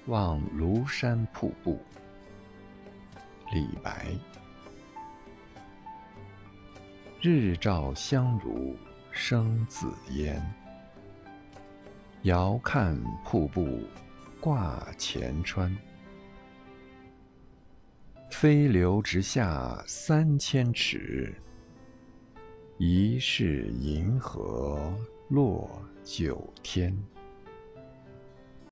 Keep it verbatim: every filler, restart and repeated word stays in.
望庐山瀑布。李白。日照香炉生紫烟，遥看瀑布挂前川。飞流直下三千尺，疑是银河落九天。